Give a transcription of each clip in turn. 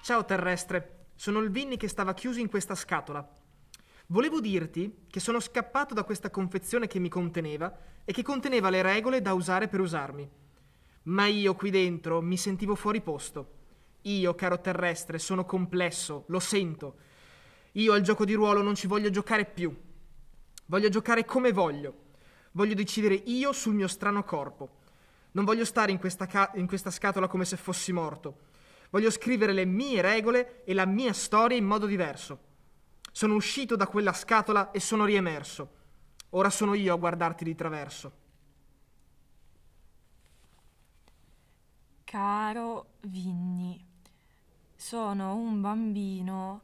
Ciao terrestre, sono il Vinny che stava chiuso in questa scatola. Volevo dirti che sono scappato da questa confezione che mi conteneva e che conteneva le regole da usare per usarmi. Ma io qui dentro mi sentivo fuori posto. Io, caro terrestre, sono complesso, lo sento. Io al gioco di ruolo non ci voglio giocare più. Voglio giocare come voglio. Voglio decidere io sul mio strano corpo. Non voglio stare in questa scatola come se fossi morto. Voglio scrivere le mie regole e la mia storia in modo diverso. Sono uscito da quella scatola e sono riemerso. Ora sono io a guardarti di traverso. Caro Vinny, sono un bambino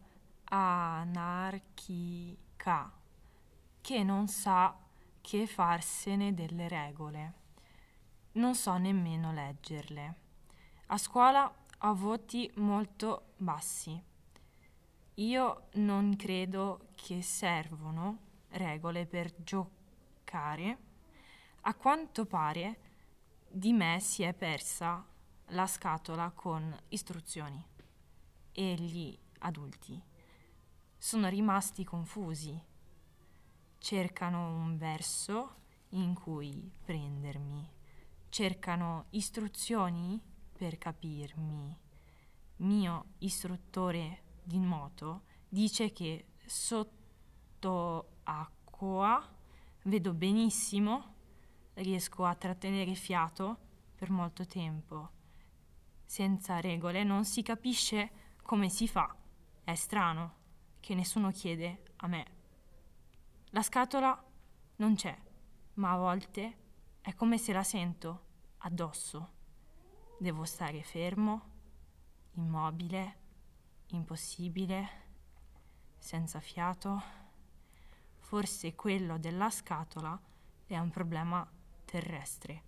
anarchica che non sa che farsene delle regole. Non so nemmeno leggerle. A scuola ho voti molto bassi. Io non credo che servono regole per giocare. A quanto pare di me si è persa la scatola con istruzioni e gli adulti sono rimasti confusi. Cercano un verso in cui prendermi. Cercano istruzioni per capirmi. Mio istruttore di nuoto dice che sotto acqua vedo benissimo, riesco a trattenere fiato per molto tempo. Senza regole non si capisce come si fa. È strano che nessuno chiede a me. La scatola non c'è, ma a volte è come se la sento addosso. Devo stare fermo, immobile, impossibile, senza fiato. Forse quello della scatola è un problema terrestre.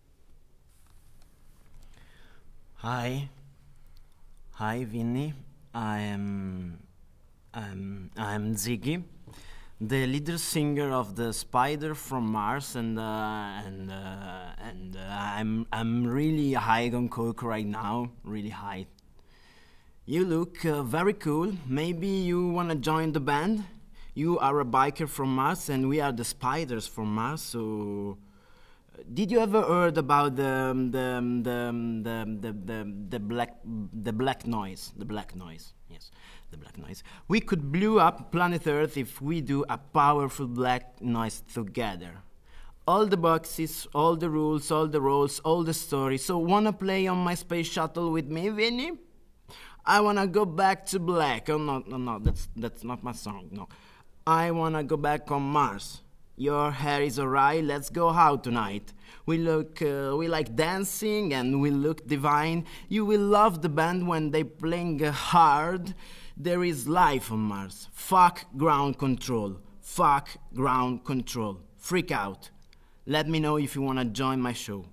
Hi, Vinny. I'm Ziggy, the leader singer of the Spider from Mars, and I'm really high on coke right now, really high. You look very cool. Maybe you wanna join the band? You are a biker from Mars, and we are the Spiders from Mars. So, did you ever heard about the black noise? The black noise, yes, the black noise. We could blow up planet Earth if we do a powerful black noise together. All the boxes, all the rules, all the roles, all the stories. So, wanna play on my space shuttle with me, Vinny? I wanna go back to black. Oh no, that's not my song. No, I wanna go back on Mars. Your hair is alright. Let's go out tonight. We like dancing and we look divine. You will love the band when they playing hard. There is life on Mars. Fuck ground control. Fuck ground control. Freak out. Let me know if you wanna join my show.